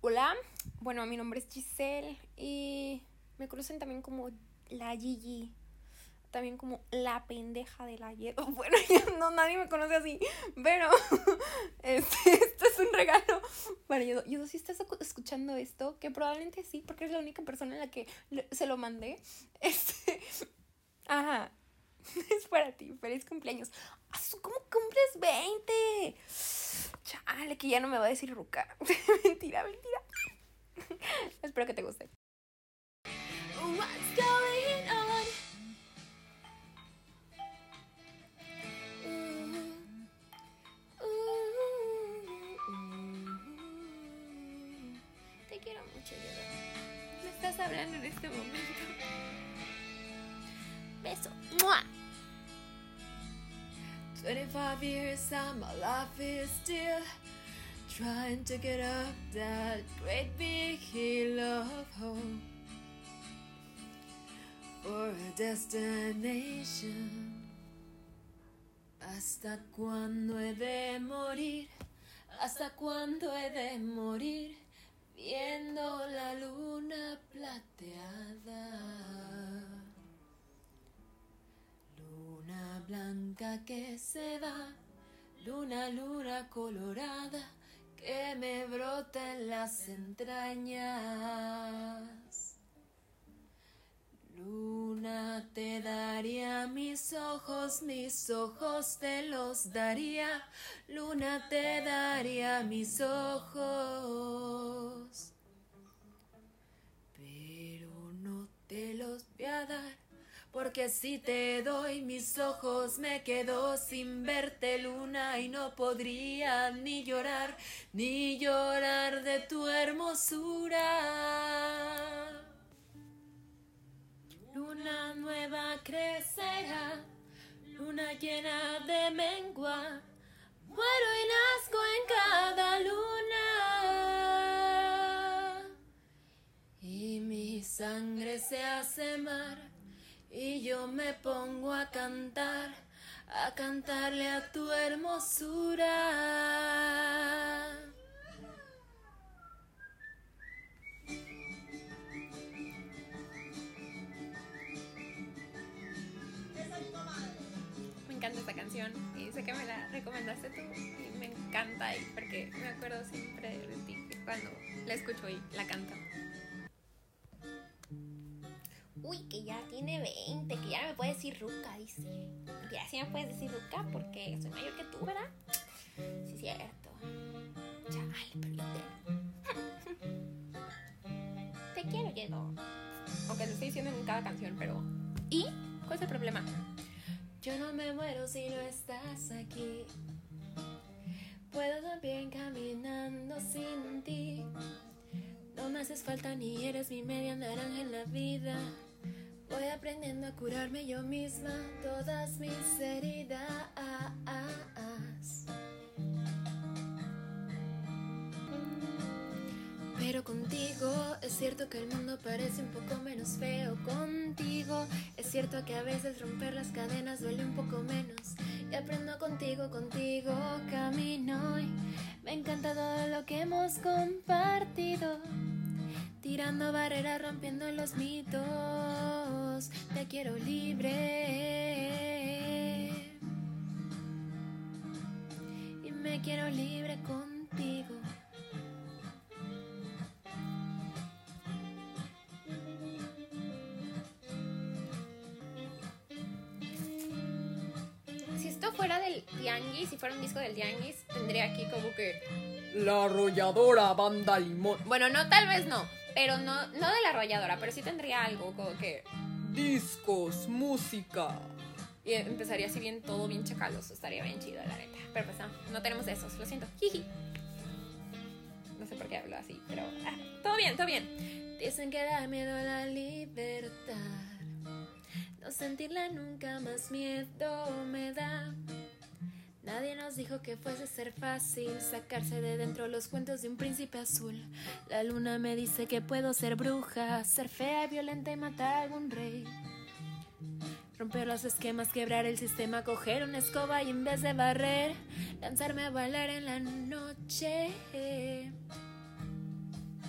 Hola, bueno, mi nombre es Giselle y me conocen también como la Gigi, también como la pendeja de la Yedo. Bueno, no, nadie me conoce así, pero esto es un regalo para Yedo. Yedo, si estás escuchando esto, que probablemente sí, porque es la única persona a la que se lo mandé, ajá, es para ti, feliz cumpleaños. ¿Cómo cumples 20? Chale, que ya no me va a decir ruca. Mentira. Espero que te guste. What's going on? Te quiero mucho, Yoda. Me estás hablando en este momento. Beso. ¡Mua! 25 years and my life is still trying to get up that great big hill of hope for a destination. ¿Hasta cuándo he de morir? ¿Hasta cuándo he de morir? Viendo la luna plateada. Luna blanca que se va, luna colorada que me brota en las entrañas. Luna, te daría mis ojos te los daría. Luna, te daría mis ojos, pero no te los voy a dar, porque si te doy mis ojos me quedo sin verte, luna, y no podría ni llorar de tu hermosura. Luna nueva crecerá, luna llena de mengua, muero y nazco en cada luna. Y mi sangre se hace mar, y yo me pongo a cantarle a tu hermosura. Me encanta esta canción y sé que me la recomendaste tú y me encanta porque me acuerdo siempre de ti cuando la escucho y la canto. Uy, que ya tiene 20, que ya no me puede decir ruca, dice. Ya sí me puedes decir ruca porque soy mayor que tú, ¿verdad? Sí, cierto. Chale, pero yo te quiero, Yedo. Aunque lo estoy diciendo en cada canción, pero... ¿Y? ¿Cuál es el problema? Yo no me muero si no estás aquí. Puedo también caminando sin ti. No me haces falta ni eres mi media naranja en la vida. Voy aprendiendo a curarme yo misma todas mis heridas. Pero contigo es cierto que el mundo parece un poco menos feo. Contigo es cierto que a veces romper las cadenas duele un poco menos. Y aprendo contigo camino y me encanta todo lo que hemos compartido. Tirando barreras, rompiendo los mitos. Te quiero libre y me quiero libre contigo. Si esto fuera del Tianguis, si fuera un disco del Tianguis, tendría aquí como que La Arrolladora Banda Limón. bueno, no, tal vez no, pero no de la arrolladora, pero sí tendría algo como que discos, música. y empezaría así bien, todo bien chacaloso, estaría bien chido, la neta. Pero pues no tenemos esos, lo siento. Jiji. No sé por qué hablo así, pero todo bien. Dicen que da miedo a la libertad, no sentirla nunca más miedo me da. Nadie nos dijo que fuese ser fácil sacarse de dentro los cuentos de un príncipe azul. La luna me dice que puedo ser bruja, ser fea y violenta y matar a algún rey. Romper los esquemas, quebrar el sistema, coger una escoba y en vez de barrer, lanzarme a bailar en la noche.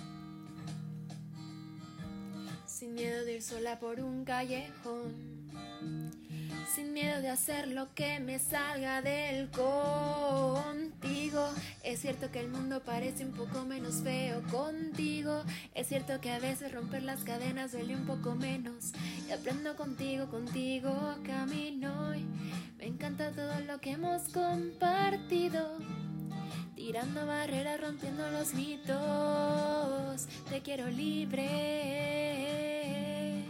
ir sola por un callejón, sin miedo de hacer lo que me salga del contigo. Es cierto que el mundo parece un poco menos feo contigo. Es cierto que a veces romper las cadenas duele un poco menos. Y aprendo contigo, contigo camino. Y me encanta todo lo que hemos compartido. Tirando barreras, rompiendo los mitos. Te quiero libre.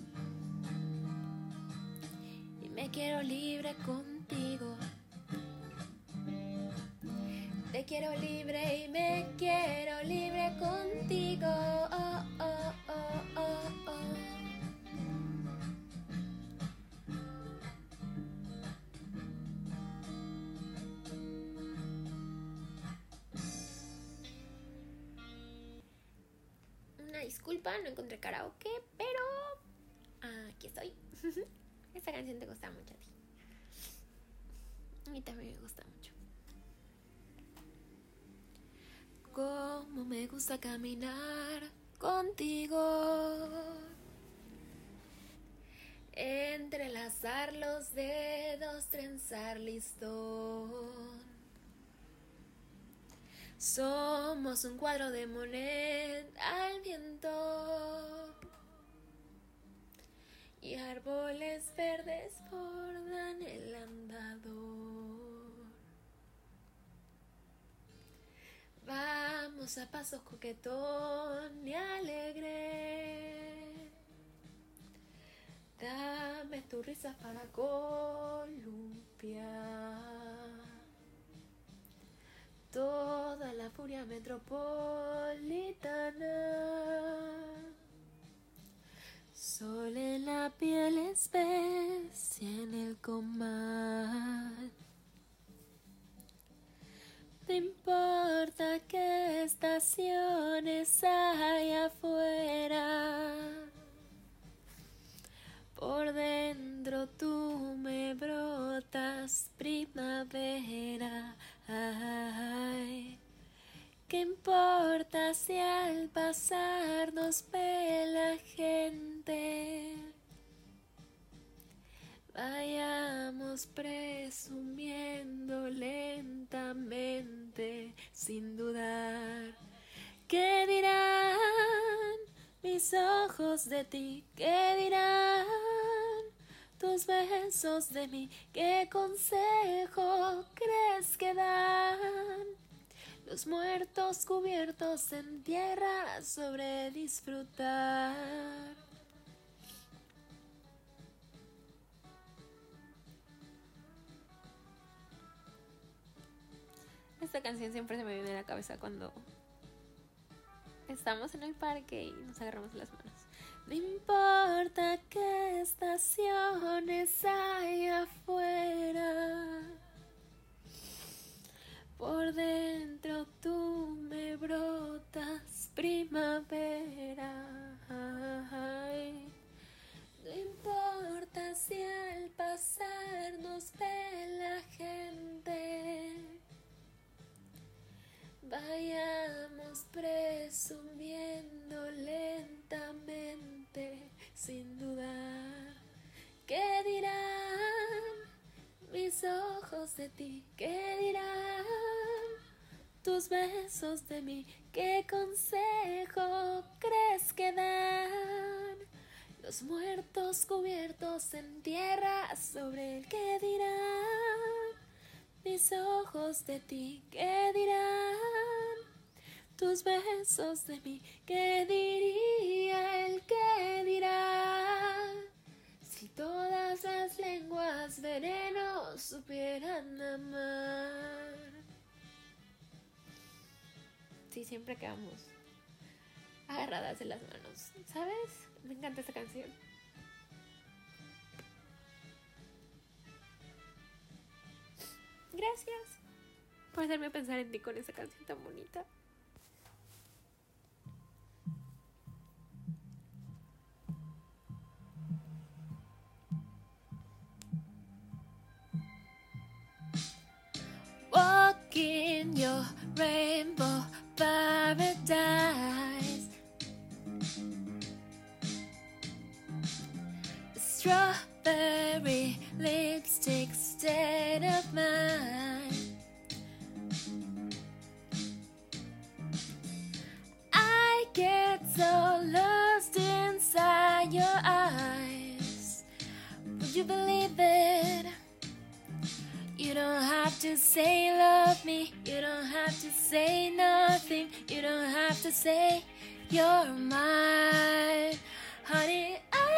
Y me quiero libre contigo. Te quiero libre y me quiero libre contigo. Oh, oh, oh, oh, oh. Una disculpa, no encontré karaoke, pero aquí estoy. Esta canción te gusta mucho a ti. A mí también me gusta mucho. Cómo me gusta caminar contigo, entrelazar los dedos, trenzar listón. Somos un cuadro de Monet al viento, y árboles verdes bordan el andador. Vamos a pasos coquetón y alegre. Dame tus risas para columpiar toda la furia metropolitana. Sol en la piel, especia en el comal. No importa qué estaciones hay afuera, por dentro tú me brotas primavera. Ay, ¿qué importa si al pasar nos ve la gente? Vayamos presumiendo lentamente, sin dudar. ¿Qué dirán mis ojos de ti? ¿Qué dirán tus besos de mí? ¿Qué consejo crees que dan los muertos cubiertos en tierra sobre disfrutar? Esta canción siempre se me viene a la cabeza cuando estamos en el parque y nos agarramos las manos. No importa qué estaciones hay afuera, por dentro tú me brotas primavera. Ay, no importa si al pasar nos ve la gente. Vayamos presumiendo lentamente, sin dudar. ¿Qué dirán mis ojos de ti? ¿Qué dirán tus besos de mí? ¿Qué consejo crees que dan los muertos cubiertos en tierra sobre el que dirán? Mis ojos de ti, ¿qué dirán tus besos de mí? ¿Qué diría el que dirá? Si todas las lenguas veneno supieran amar. Sí, siempre quedamos agarradas de las manos, ¿sabes? Me encanta esta canción. Gracias por hacerme pensar en ti con esa canción tan bonita. Walking your rainbow paradise. strawberry lipstick state of mind. I get so lost inside your eyes. Would you believe it? You don't have to say love me. You don't have to say nothing. You don't have to say you're mine. Honey,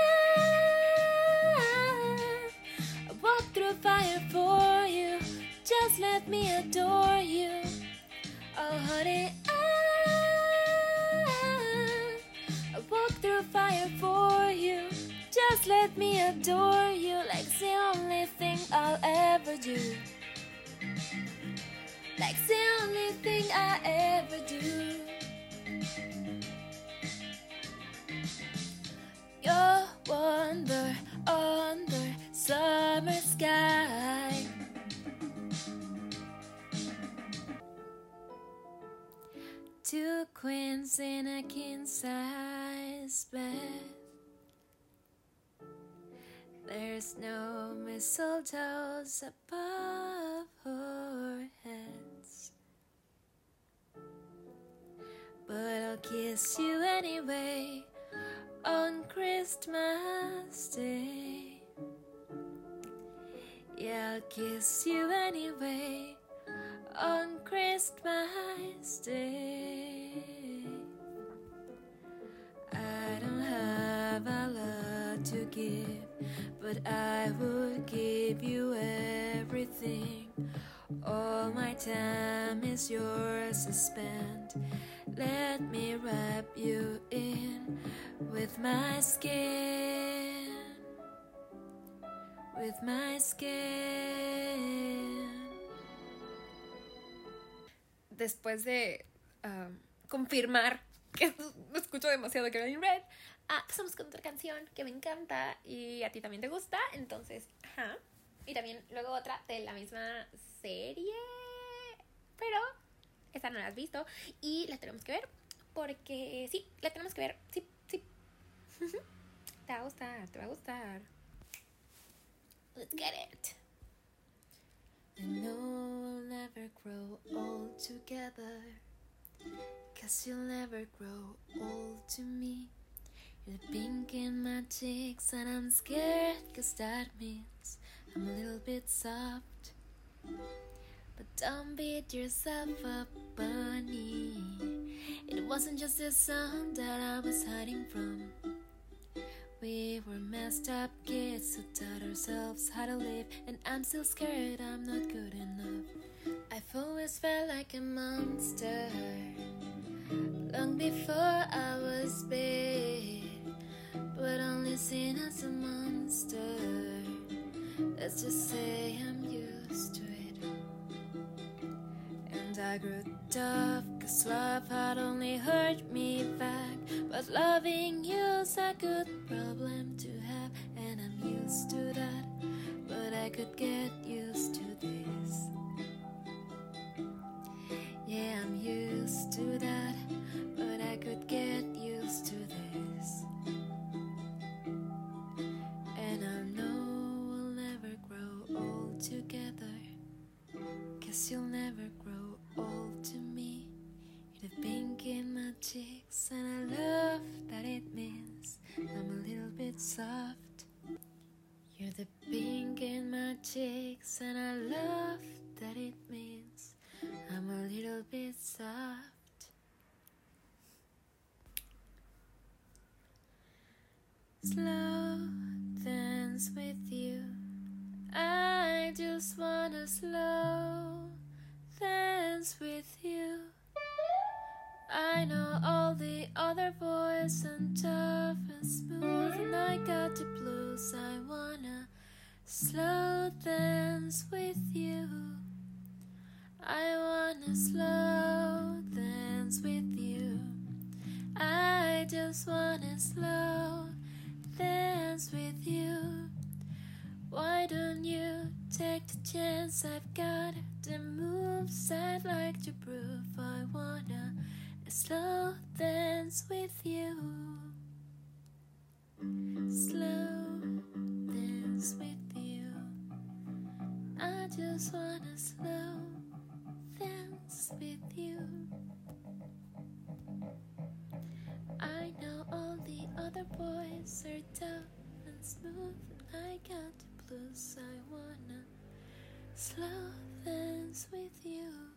I walk through fire for you. Just let me adore you. Oh, honey, I walk through fire for you. Just let me adore you. Like it's the only thing I'll ever do. Like it's the only thing I ever do. You're wonder under summer sky. Two queens in a king-size bed. There's no mistletoes above our heads, but I'll kiss you anyway on Christmas Day. Yeah, I'll kiss you anyway on Christmas Day. I don't have a lot to give, but I would give you everything. All my time is yours to spend. Let me wrap you in with my skin, with my skin. Después de confirmar que escucho demasiado Carolyn Red, pasamos con otra canción que me encanta y a ti también te gusta, entonces, ajá. Y también luego otra de la misma serie, pero esta no la has visto y la tenemos que ver porque sí, la tenemos que ver, sí. Te va a gustar, te va a gustar. Let's get it. I know we'll never grow old together, 'cause you'll never grow old to me. You're the pink in my cheeks and I'm scared, 'cause that means I'm a little bit soft. But don't beat yourself up, bunny. It wasn't just a song that I was hiding from. We were messed up kids who taught ourselves how to live, and I'm still scared I'm not good enough. I've always felt like a monster, long before I was big, but only seen as a monster. Let's just say I'm used to it. And I grew tough, 'cause love had only hurt me back, but loving you's a good problem to have, and I'm used to that, but I could get used to this. Yeah, I'm used to that, but I could get used to this. And I know we'll never grow old together, 'cause you'll never grow old to me. You're the pink in my cheeks, and I love that it means I'm a little bit soft. You're the pink in my cheeks, and I love that it means I'm a little bit soft. Slow dance with you. I just wanna slow dance with you. I know all the other boys and tough and smooth, and I got the blues. I wanna slow dance with you. I wanna slow dance with you. I just wanna slow dance with you. Why don't you take the chance? I've got the moves I'd like to prove. I wanna slow dance with you. Slow I just wanna slow dance with you. I know all the other boys are tough and smooth. I got the blues. I wanna slow dance with you.